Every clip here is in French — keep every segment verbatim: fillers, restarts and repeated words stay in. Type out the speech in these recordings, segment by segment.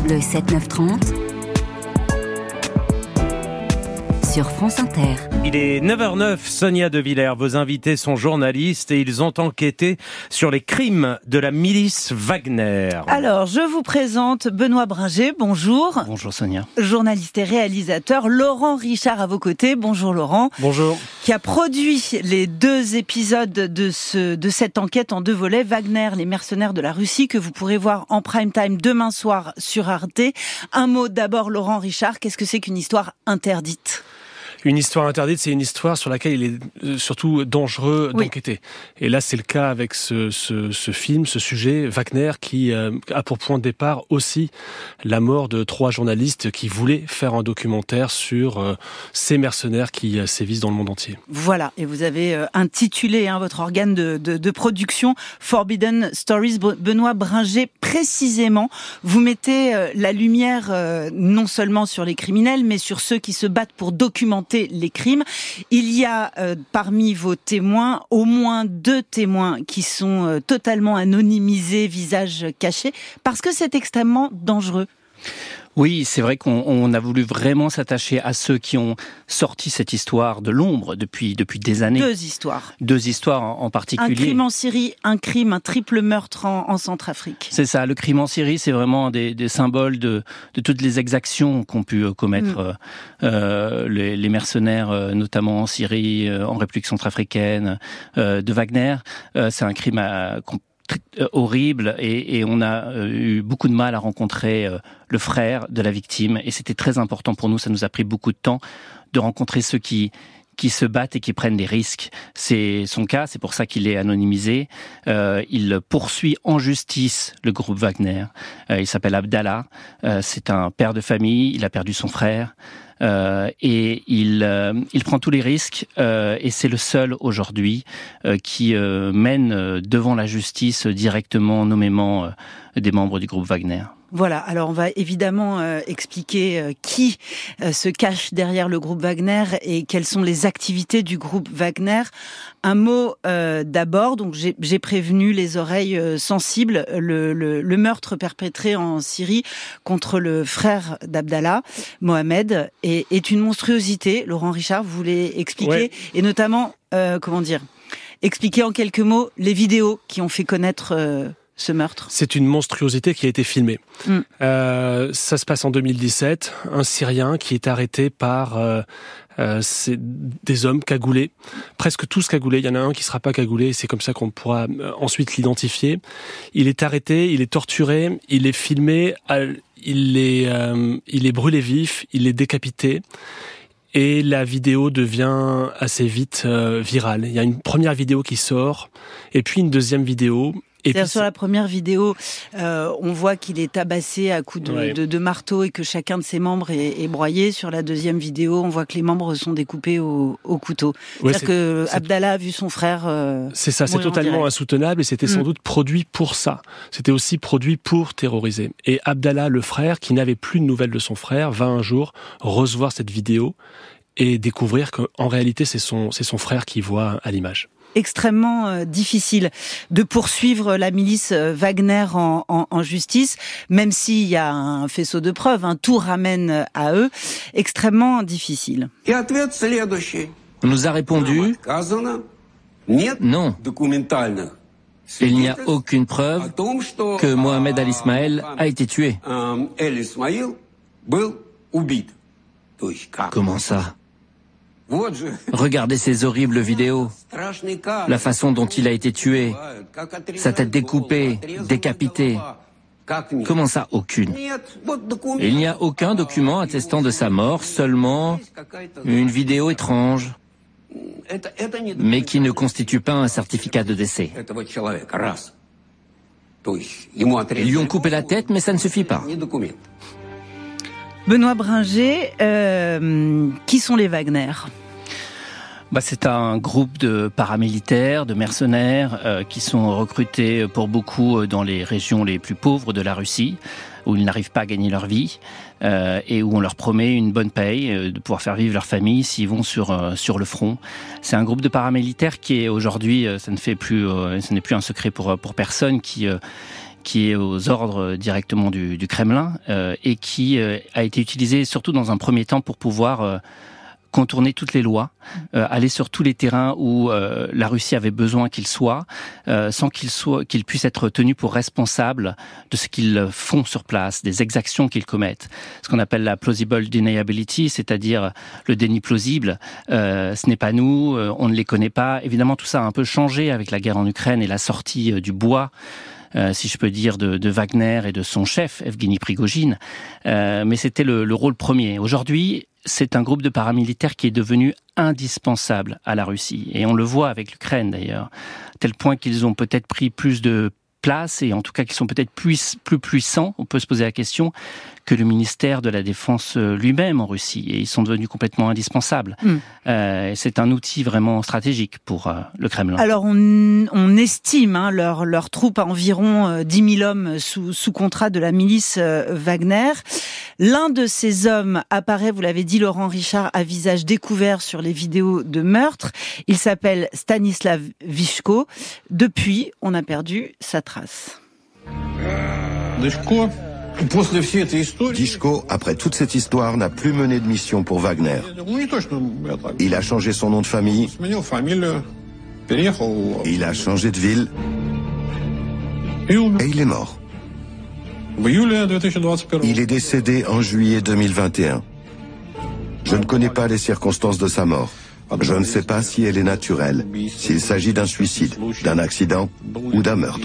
Le sept neuf trente sur France Inter. Il est neuf heures zéro neuf, Sonia De Villers. Vos invités sont journalistes et ils ont enquêté sur les crimes de la milice Wagner. Alors, je vous présente Benoît Bringer, bonjour. Bonjour Sonia. Journaliste et réalisateur, Laurent Richard à vos côtés. Bonjour Laurent. Bonjour. Qui a produit les deux épisodes de, ce, de cette enquête en deux volets, Wagner, les mercenaires de la Russie, que vous pourrez voir en prime time demain soir sur Arte. Un mot d'abord, Laurent Richard, qu'est-ce que c'est qu'une histoire interdite ? Une histoire interdite, c'est une histoire sur laquelle il est surtout dangereux Oui. d'enquêter. Et là, c'est le cas avec ce, ce, ce film, ce sujet, Wagner, qui euh, a pour point de départ aussi la mort de trois journalistes qui voulaient faire un documentaire sur euh, ces mercenaires qui euh, sévissent dans le monde entier. Voilà, et vous avez euh, intitulé hein, votre organe de, de, de production Forbidden Stories. Benoît Bringer, précisément, vous mettez euh, la lumière euh, non seulement sur les criminels, mais sur ceux qui se battent pour documenter les crimes. Il y a euh, parmi vos témoins au moins deux témoins qui sont euh, totalement anonymisés, visage caché, parce que c'est extrêmement dangereux. Oui, c'est vrai qu'on on a voulu vraiment s'attacher à ceux qui ont sorti cette histoire de l'ombre depuis, depuis des années. Deux histoires. Deux histoires en, en particulier. Un crime en Syrie, un crime, un triple meurtre en, en Centrafrique. C'est ça, le crime en Syrie, c'est vraiment des, des symboles de, de toutes les exactions qu'ont pu commettre mmh. euh, les, les mercenaires, euh, notamment en Syrie, euh, en République centrafricaine, euh, de Wagner. Euh, c'est un crime à, horrible et, et on a eu beaucoup de mal à rencontrer le frère de la victime et c'était très important pour nous, ça nous a pris beaucoup de temps de rencontrer ceux qui qui se battent et qui prennent des risques. C'est son cas, c'est pour ça qu'il est anonymisé. Euh, il poursuit en justice le groupe Wagner. Euh, il s'appelle Abdallah, euh, c'est un père de famille, il a perdu son frère. Euh, et il, euh, il prend tous les risques euh, et c'est le seul aujourd'hui euh, qui euh, mène devant la justice directement, nommément euh, des membres du groupe Wagner. Voilà, alors on va évidemment euh, expliquer euh, qui euh, se cache derrière le groupe Wagner et quelles sont les activités du groupe Wagner. Un mot euh, d'abord, donc j'ai, j'ai prévenu les oreilles euh, sensibles, le, le, le meurtre perpétré en Syrie contre le frère d'Abdallah, Mohamed, est, est une monstruosité. Laurent Richard, vous voulez expliquer ouais. Et notamment, euh, comment dire, expliquer en quelques mots les vidéos qui ont fait connaître... Euh, ce meurtre. C'est une monstruosité qui a été filmée. Mm. Euh, ça se passe en deux mille dix-sept. Un Syrien qui est arrêté par euh, euh, c'est des hommes cagoulés, presque tous cagoulés. Il y en a un qui sera pas cagoulé. C'est comme ça qu'on pourra ensuite l'identifier. Il est arrêté, il est torturé, il est filmé, il est, euh, il est brûlé vif, il est décapité. Et la vidéo devient assez vite euh, virale. Il y a une première vidéo qui sort, et puis une deuxième vidéo. Et C'est-à-dire puis, sur la première vidéo, euh, on voit qu'il est tabassé à coups de, ouais. de, de marteau et que chacun de ses membres est, est broyé. Sur la deuxième vidéo, on voit que les membres sont découpés au, au couteau. Ouais, C'est-à-dire c'est, que c'est, Abdallah a vu son frère euh, C'est ça, c'est totalement insoutenable et c'était mmh. sans doute produit pour ça. C'était aussi produit pour terroriser. Et Abdallah, le frère, qui n'avait plus de nouvelles de son frère, va un jour recevoir cette vidéo et découvrir qu'en réalité, c'est son, c'est son frère qui voit à l'image. Extrêmement euh, difficile de poursuivre la milice euh, Wagner en, en, en justice, même s'il y a un faisceau de preuves, hein, tout ramène à eux, extrêmement difficile. On nous a répondu non. Il n'y a aucune preuve que Mohamed Al-Ismaël a été tué. Comment ça ? Regardez ces horribles vidéos, la façon dont il a été tué, sa tête découpée, décapitée. Comment ça, aucune ? Il n'y a aucun document attestant de sa mort, seulement une vidéo étrange, mais qui ne constitue pas un certificat de décès. Ils lui ont coupé la tête, mais ça ne suffit pas. Benoît Bringer, euh, qui sont les Wagner ? Bah, c'est un groupe de paramilitaires, de mercenaires euh, qui sont recrutés pour beaucoup dans les régions les plus pauvres de la Russie, où ils n'arrivent pas à gagner leur vie euh, et où on leur promet une bonne paye, euh, de pouvoir faire vivre leur famille s'ils vont sur euh, sur le front. C'est un groupe de paramilitaires qui est aujourd'hui, euh, ça ne fait plus, euh, ce n'est plus un secret pour pour personne, qui euh, qui est aux ordres directement du, du Kremlin euh, et qui euh, a été utilisé surtout dans un premier temps pour pouvoir euh, contourner toutes les lois, euh, aller sur tous les terrains où euh, la Russie avait besoin qu'il soit, euh, sans qu'il soit, qu'il puisse être tenu pour responsable de ce qu'ils font sur place, des exactions qu'ils commettent. Ce qu'on appelle la plausible deniability, c'est-à-dire le déni plausible. Euh, ce n'est pas nous, euh, on ne les connaît pas. Évidemment, tout ça a un peu changé avec la guerre en Ukraine et la sortie euh, du bois. Euh, si je peux dire, de, de Wagner et de son chef, Evgeny Prigojine. Euh, mais c'était le, le rôle premier. Aujourd'hui, c'est un groupe de paramilitaires qui est devenu indispensable à la Russie. Et on le voit avec l'Ukraine, d'ailleurs. À tel point qu'ils ont peut-être pris plus de place, et en tout cas qu'ils sont peut-être plus, plus puissants, on peut se poser la question, que le ministère de la Défense lui-même en Russie. Et ils sont devenus complètement indispensables. Mm. Euh, c'est un outil vraiment stratégique pour euh, le Kremlin. Alors, on, on estime hein, leur, leur troupe à environ euh, dix mille hommes sous, sous contrat de la milice euh, Wagner. L'un de ces hommes apparaît, vous l'avez dit, Laurent Richard, à visage découvert sur les vidéos de meurtre. Il s'appelle Stanislav Vyshko. Depuis, on a perdu sa trace. Vyshko, après toute cette histoire, n'a plus mené de mission pour Wagner. Il a changé son nom de famille. Il a changé de ville. Et il est mort. Il est décédé en juillet deux mille vingt et un. Je ne connais pas les circonstances de sa mort. Je ne sais pas si elle est naturelle, s'il s'agit d'un suicide, d'un accident ou d'un meurtre.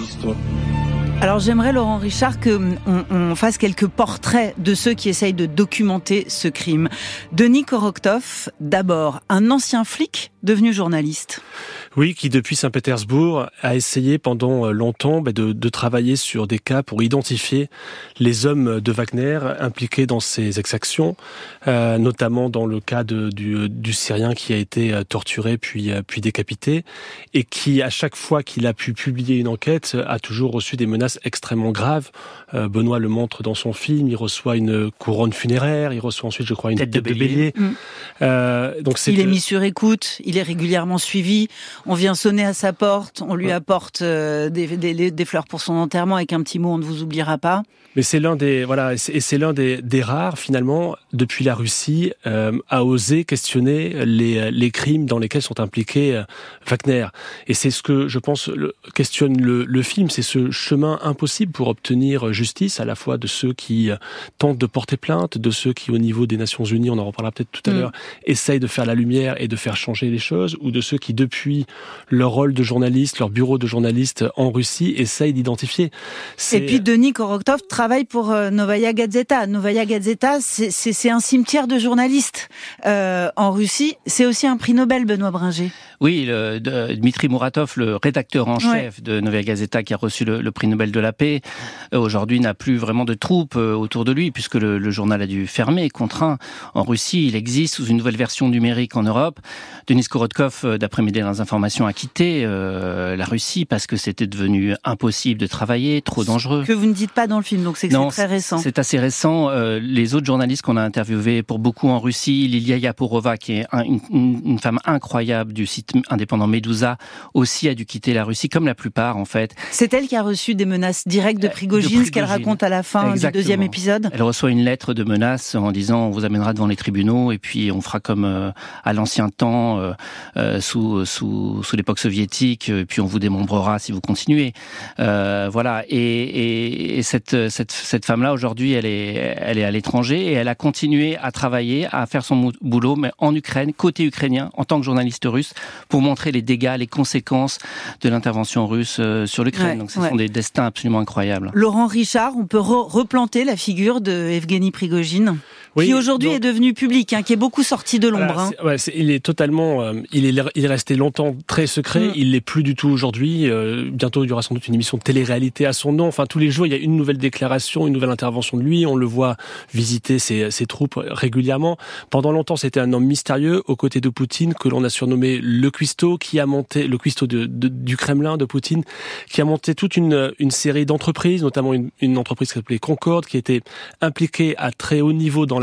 Alors j'aimerais, Laurent Richard, qu'on on fasse quelques portraits de ceux qui essayent de documenter ce crime. Denis Korotkov, d'abord, un ancien flic devenu journaliste. Oui, qui depuis Saint-Pétersbourg a essayé pendant longtemps bah, de, de travailler sur des cas pour identifier les hommes de Wagner impliqués dans ces exactions, euh, notamment dans le cas de, du, du Syrien qui a été torturé puis, puis décapité, et qui, à chaque fois qu'il a pu publier une enquête, a toujours reçu des menaces extrêmement graves. Euh, Benoît le montre dans son film, il reçoit une couronne funéraire, il reçoit ensuite, je crois, une tête, tête de bélier. bélier. Mmh. Euh, donc c'est il est mis sur écoute, il est régulièrement suivi. On vient sonner à sa porte, on lui apporte euh, des, des, des fleurs pour son enterrement avec un petit mot, on ne vous oubliera pas. Mais c'est l'un des voilà, et c'est, et c'est l'un des, des rares finalement depuis la Russie euh, à oser questionner les, les crimes dans lesquels sont impliqués euh, Wagner. Et c'est ce que je pense le, questionne le, le film, c'est ce chemin impossible pour obtenir justice à la fois de ceux qui euh, tentent de porter plainte, de ceux qui au niveau des Nations Unies, on en reparlera peut-être tout à mmh. l'heure, essayent de faire la lumière et de faire changer les choses, ou de ceux qui depuis leur rôle de journaliste, leur bureau de journaliste en Russie, essayent d'identifier. C'est... Et puis Denis Korotkov travaille pour euh, Novaya Gazeta. Novaya Gazeta, c'est, c'est, c'est un cimetière de journalistes euh, en Russie. C'est aussi un prix Nobel, Benoît Bringer. Oui, le, de, Dmitri Muratov, le rédacteur en chef ouais. de Novaya Gazeta, qui a reçu le, le prix Nobel de la paix, euh, aujourd'hui n'a plus vraiment de troupes euh, autour de lui, puisque le, le journal a dû fermer, contraint. En Russie, il existe sous une nouvelle version numérique en Europe. Denis Korotkov, euh, d'après mes dernières informations, a quitté euh, la Russie parce que c'était devenu impossible de travailler, trop dangereux. Que vous ne dites pas dans le film, donc c'est que non, c'est très récent. C'est assez récent. Euh, les autres journalistes qu'on a interviewés, pour beaucoup en Russie, Lilia Yaporova, qui est un, une, une femme incroyable du site indépendant Medusa, aussi a dû quitter la Russie, comme la plupart en fait. C'est elle qui a reçu des menaces directes de Prigojine, de Prigojine. Ce qu'elle raconte à la fin Exactement. du deuxième épisode. Elle reçoit une lettre de menace en disant on vous amènera devant les tribunaux et puis on fera comme euh, à l'ancien temps, euh, euh, sous, sous, sous l'époque soviétique, et puis on vous démembrera si vous continuez. Euh, voilà. Et, et, et cette, cette, cette femme-là, aujourd'hui, elle est, elle est à l'étranger et elle a continué à travailler, à faire son boulot, mais en Ukraine, côté ukrainien, en tant que journaliste russe, pour montrer les dégâts, les conséquences de l'intervention russe sur l'Ukraine. Ouais, Donc ce ouais. sont des destins absolument incroyables. Laurent Richard, on peut re- replanter la figure de Evgeny Prigojine, oui, qui aujourd'hui donc, est devenu public, hein, qui est beaucoup sorti de l'ombre. Voilà, c'est, ouais, c'est, il est totalement, euh, il est, il est resté longtemps très secret. Mm. Il l'est plus du tout aujourd'hui. Euh, bientôt, il y aura sans doute une émission de télé-réalité à son nom. Enfin, tous les jours, il y a une nouvelle déclaration, une nouvelle intervention de lui. On le voit visiter ses, ses troupes régulièrement. Pendant longtemps, c'était un homme mystérieux aux côtés de Poutine, que l'on a surnommé le cuistot, qui a monté le cuistot de, de, du Kremlin de Poutine, qui a monté toute une, une série d'entreprises, notamment une, une entreprise qui s'appelait Concorde, qui était impliquée à très haut niveau dans la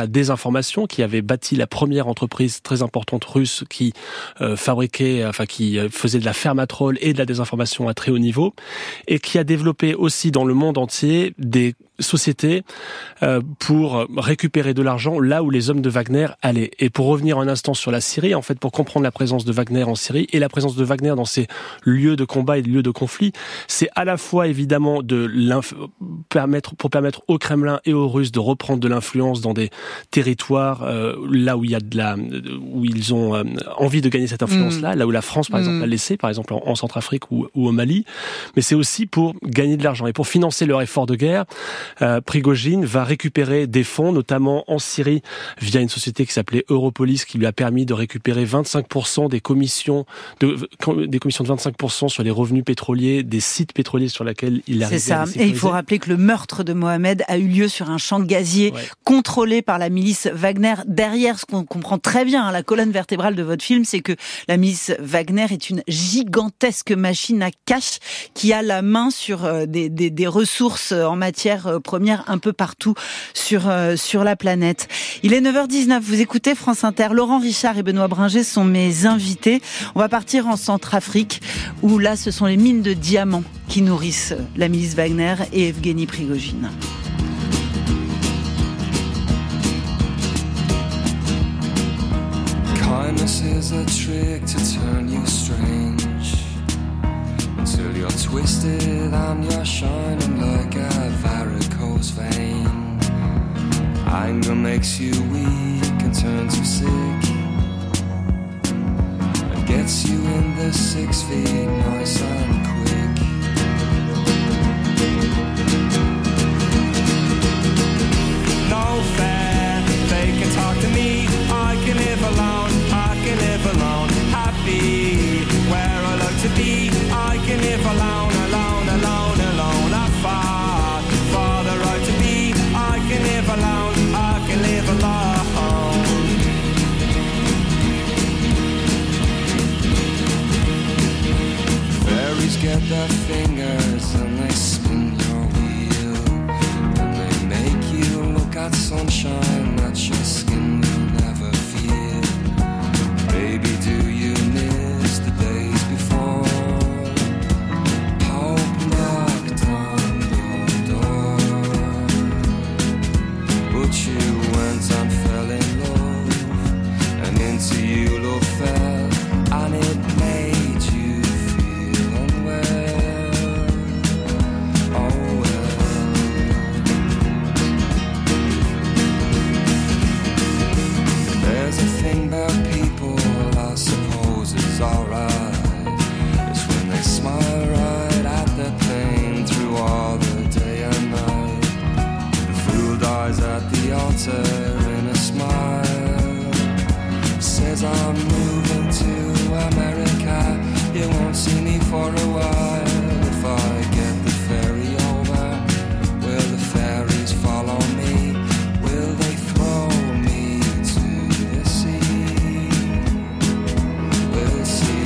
la désinformation, qui avait bâti la première entreprise très importante russe qui euh, fabriquait, enfin qui faisait de la fermatrol et de la désinformation à très haut niveau, et qui a développé aussi dans le monde entier des sociétés euh, pour récupérer de l'argent là où les hommes de Wagner allaient. Et pour revenir un instant sur la Syrie, en fait, pour comprendre la présence de Wagner en Syrie et la présence de Wagner dans ces lieux de combat et lieux de conflit, c'est à la fois évidemment de permettre pour permettre au Kremlin et aux Russes de reprendre de l'influence dans des territoires euh, là où il y a de la où ils ont euh, envie de gagner cette influence-là, mmh. là où la France par exemple mmh. l'a laissé, par exemple en, en Centrafrique ou, ou au Mali. Mais c'est aussi pour gagner de l'argent et pour financer leur effort de guerre. Euh, Prigojine va récupérer des fonds, notamment en Syrie, via une société qui s'appelait Europolis, qui lui a permis de récupérer vingt-cinq pour cent des commissions, de, des commissions de vingt-cinq pour cent sur les revenus pétroliers des sites pétroliers sur lesquels il arrivait. C'est ça. Et il faut rappeler que le meurtre de Mohamed a eu lieu sur un champ gazier ouais. contrôlé par la milice Wagner. Derrière, ce qu'on comprend très bien, hein, la colonne vertébrale de votre film, c'est que la milice Wagner est une gigantesque machine à cash qui a la main sur euh, des, des, des ressources en matière euh, première un peu partout sur euh, sur la planète. Il est neuf heures dix-neuf, vous écoutez France Inter. Laurent Richard et Benoît Bringer sont mes invités. On va partir en Centrafrique où là ce sont les mines de diamants qui nourrissent la milice Wagner et Evgeny Prigojine. Kindness is a trick to turn you strange until you're twisted and you're shining like a varicose vein. Anger makes you weak and turns you sick and gets you in the six feet nice and quick. No fair, they can talk to me, I can live alone, I can live alone, happy where I like to be, I can live alone, alone, alone, alone, I fought for the right to be, I can live alone, I can live alone. Fairies get their fingers and they spin your wheel, and they make you look at sunshine that your skin will never feel. Baby, do you miss the days before hope knocked on your door, but you went and fell in love, and into you love fell, and it made you feel unwell. Oh well. There's a thing about people I suppose is alright. It's when they smile right at their pain through all the day and night. The fool dies at the altar in a smile. Says I'm moving to America, you won't see me for a while. If I get the ferry over, will the fairies follow me? Will they throw me to the sea? We'll see.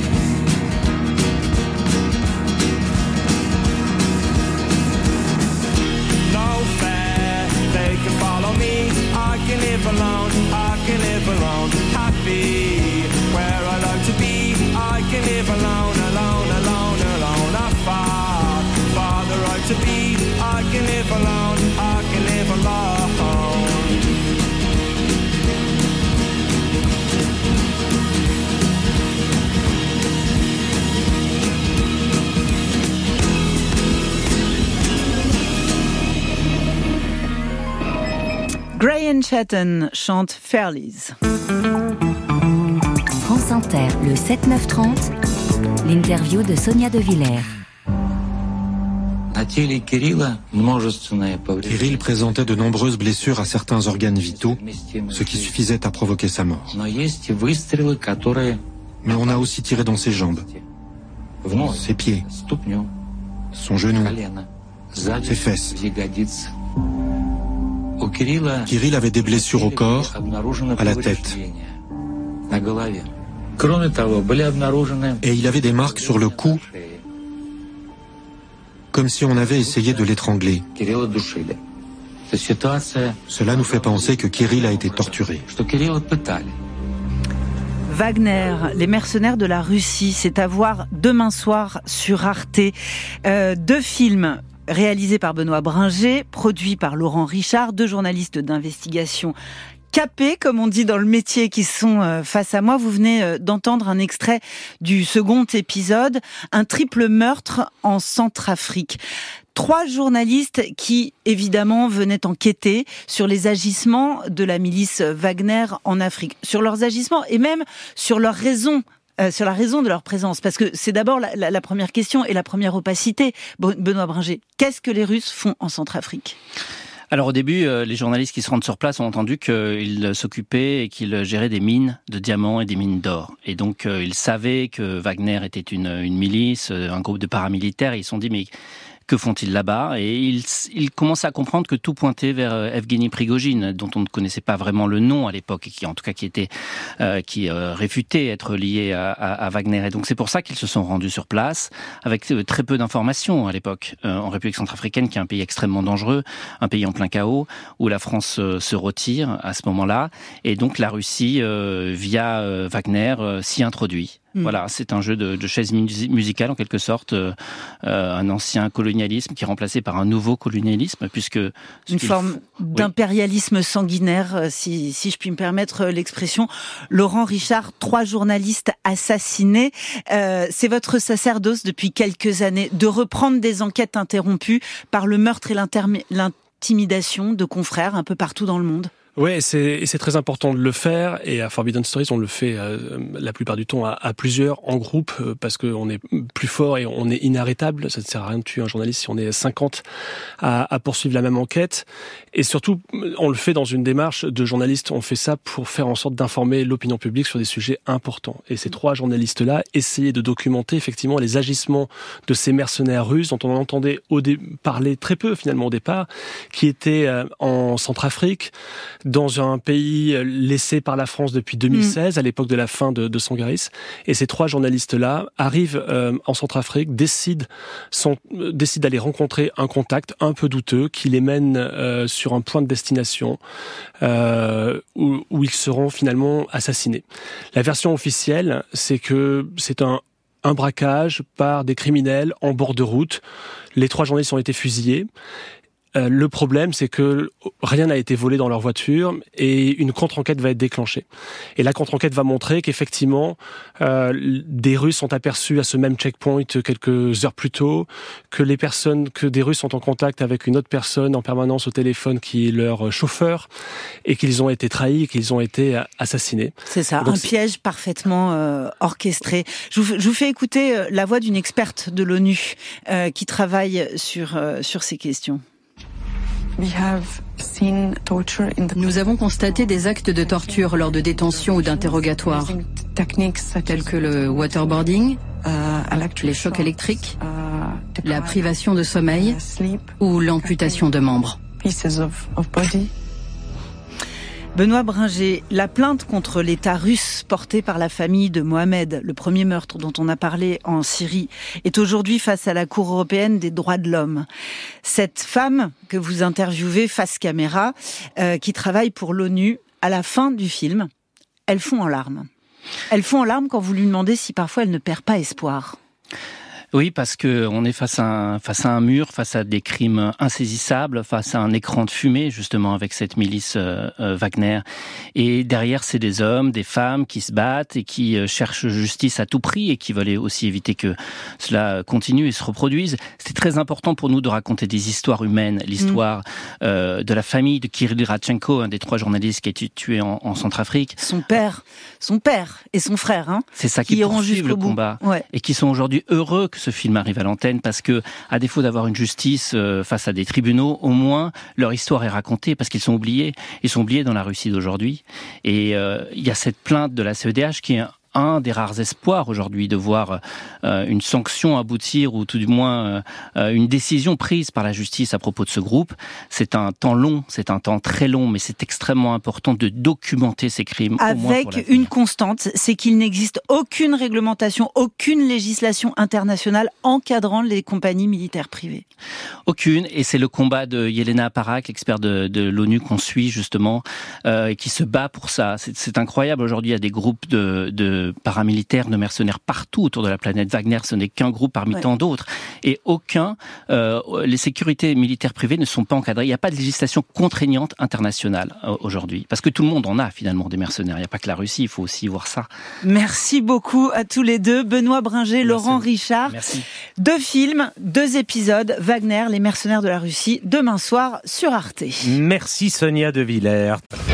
No fair, they can follow me, I can live alone, I can live alone, happy where I like to be, I can live alone, alone, alone, alone, I fought for the right to be, I can live alone, I can live alone. Graham Chatton chante Fairlies. France Inter, le sept neuf trente, l'interview de Sonia De Villers. Kirill présentait de nombreuses blessures à certains organes vitaux, ce qui suffisait à provoquer sa mort. Mais on a aussi tiré dans ses jambes, ses pieds, son genou, ses fesses. Kirill avait des blessures au corps, à la tête. Et il avait des marques sur le cou, comme si on avait essayé de l'étrangler. Cela nous fait penser que Kirill a été torturé. Wagner, les mercenaires de la Russie, c'est à voir demain soir sur Arte. Euh, deux films réalisés par Benoît Bringer, produits par Laurent Richard, deux journalistes d'investigation capés, comme on dit dans le métier, qui sont euh, face à moi. Vous venez euh, d'entendre un extrait du second épisode, un triple meurtre en Centrafrique. Trois journalistes qui, évidemment, venaient enquêter sur les agissements de la milice Wagner en Afrique, sur leurs agissements et même sur leurs raisons, euh, sur la raison de leur présence. Parce que c'est d'abord la, la, la première question et la première opacité. Benoît Bringer, qu'est-ce que les Russes font en Centrafrique ? Alors au début, euh, les journalistes qui se rendent sur place ont entendu qu'ils s'occupaient et qu'ils géraient des mines de diamants et des mines d'or. Et donc euh, ils savaient que Wagner était une, une milice, un groupe de paramilitaires, et ils se sont dit mais que font-ils là-bas ? Et ils, ils commençaient à comprendre que tout pointait vers Evgeny Prigojine, dont on ne connaissait pas vraiment le nom à l'époque, et qui en tout cas qui était, euh, qui euh, réfutait être lié à, à, à Wagner. Et donc c'est pour ça qu'ils se sont rendus sur place, avec euh, très peu d'informations à l'époque, euh, en République centrafricaine, qui est un pays extrêmement dangereux, un pays en plein chaos, où la France euh, se retire à ce moment-là, et donc la Russie, euh, via euh, Wagner, euh, s'y introduit. Voilà, c'est un jeu de, de chaise musicale en quelque sorte, euh, un ancien colonialisme qui est remplacé par un nouveau colonialisme, puisque une forme f... d'impérialisme oui. sanguinaire, si, si je puis me permettre l'expression. Laurent Richard, trois journalistes assassinés, euh, c'est votre sacerdoce depuis quelques années de reprendre des enquêtes interrompues par le meurtre et l'intimidation de confrères un peu partout dans le monde. Ouais, c'est, et c'est très important de le faire. Et à Forbidden Stories, on le fait euh, la plupart du temps à, à plusieurs, en groupe, euh, parce qu'on est plus fort et on est inarrêtable. Ça ne sert à rien de tuer un journaliste si on est cinquante à, à poursuivre la même enquête. Et surtout, on le fait dans une démarche de journaliste. On fait ça pour faire en sorte d'informer l'opinion publique sur des sujets importants. Et ces trois journalistes-là essayaient de documenter effectivement les agissements de ces mercenaires russes dont on entendait au dé- parler très peu finalement au départ, qui étaient euh, en Centrafrique, dans un pays laissé par la France depuis deux mille seize, mmh. à l'époque de la fin de, de Sangaris. Et ces trois journalistes-là arrivent euh, en Centrafrique, décident, sont, euh, décident d'aller rencontrer un contact un peu douteux qui les mène euh, sur un point de destination euh, où, où ils seront finalement assassinés. La version officielle, c'est que c'est un un braquage par des criminels en bord de route. Les trois journalistes ont été fusillés. Euh, le problème, c'est que rien n'a été volé dans leur voiture et une contre-enquête va être déclenchée. Et la contre-enquête va montrer qu'effectivement, euh, des Russes sont aperçus à ce même checkpoint quelques heures plus tôt, que les personnes, que des Russes sont en contact avec une autre personne en permanence au téléphone qui est leur chauffeur, et qu'ils ont été trahis, et qu'ils ont été assassinés. C'est ça, donc, un c'est... piège parfaitement euh, orchestré. Je vous, je vous fais écouter la voix d'une experte de l'ONU euh, qui travaille sur euh, sur ces questions. Nous avons constaté des actes de torture lors de détention ou d'interrogatoire, tels que le waterboarding, les chocs électriques, la privation de sommeil ou l'amputation de membres. Benoît Bringer, la plainte contre l'État russe portée par la famille de Mohamed, le premier meurtre dont on a parlé en Syrie, est aujourd'hui face à la Cour européenne des droits de l'homme. Cette femme que vous interviewez face caméra, euh, qui travaille pour l'ONU, à la fin du film, elle fond en larmes. Elle fond en larmes quand vous lui demandez si parfois elle ne perd pas espoir. Oui, parce que on est face à un, face à un mur, face à des crimes insaisissables, face à un écran de fumée, justement, avec cette milice euh, euh, Wagner. Et derrière, c'est des hommes, des femmes qui se battent et qui euh, cherchent justice à tout prix et qui veulent aussi éviter que cela continue et se reproduise. C'est très important pour nous de raconter des histoires humaines, l'histoire mmh. euh, de la famille de Kirill Radchenko, un des trois journalistes qui a été tué en, en Centrafrique. Son père, son père et son frère, hein, c'est ça qui, qui poursuivent le combat ouais. et qui sont aujourd'hui heureux que ce film arrive à l'antenne, parce que, à défaut d'avoir une justice euh, face à des tribunaux, au moins leur histoire est racontée, parce qu'ils sont oubliés. Ils sont oubliés dans la Russie d'aujourd'hui. Et il euh, y a cette plainte de la C E D H qui est un, un des rares espoirs aujourd'hui de voir euh, une sanction aboutir ou tout du moins euh, une décision prise par la justice à propos de ce groupe. C'est un temps long, c'est un temps très long, mais c'est extrêmement important de documenter ces crimes. Avec une constante, c'est qu'il n'existe aucune réglementation, aucune législation internationale encadrant les compagnies militaires privées. Aucune, et c'est le combat de Yelena Parak, l'expert de, de l'ONU qu'on suit justement, euh, qui se bat pour ça. C'est, c'est incroyable, aujourd'hui il y a des groupes de, de paramilitaires, de mercenaires partout autour de la planète. Wagner, ce n'est qu'un groupe parmi ouais. tant d'autres, et aucun, euh, les sécurités militaires privées ne sont pas encadrées. Il n'y a pas de législation contraignante internationale euh, aujourd'hui, parce que tout le monde en a finalement des mercenaires. Il n'y a pas que la Russie, il faut aussi voir ça. Merci beaucoup à tous les deux, Benoît Bringer, Merci. Laurent Richard. Merci. Deux films, deux épisodes, Wagner, les mercenaires de la Russie, demain soir sur Arte. Merci Sonia De Villers.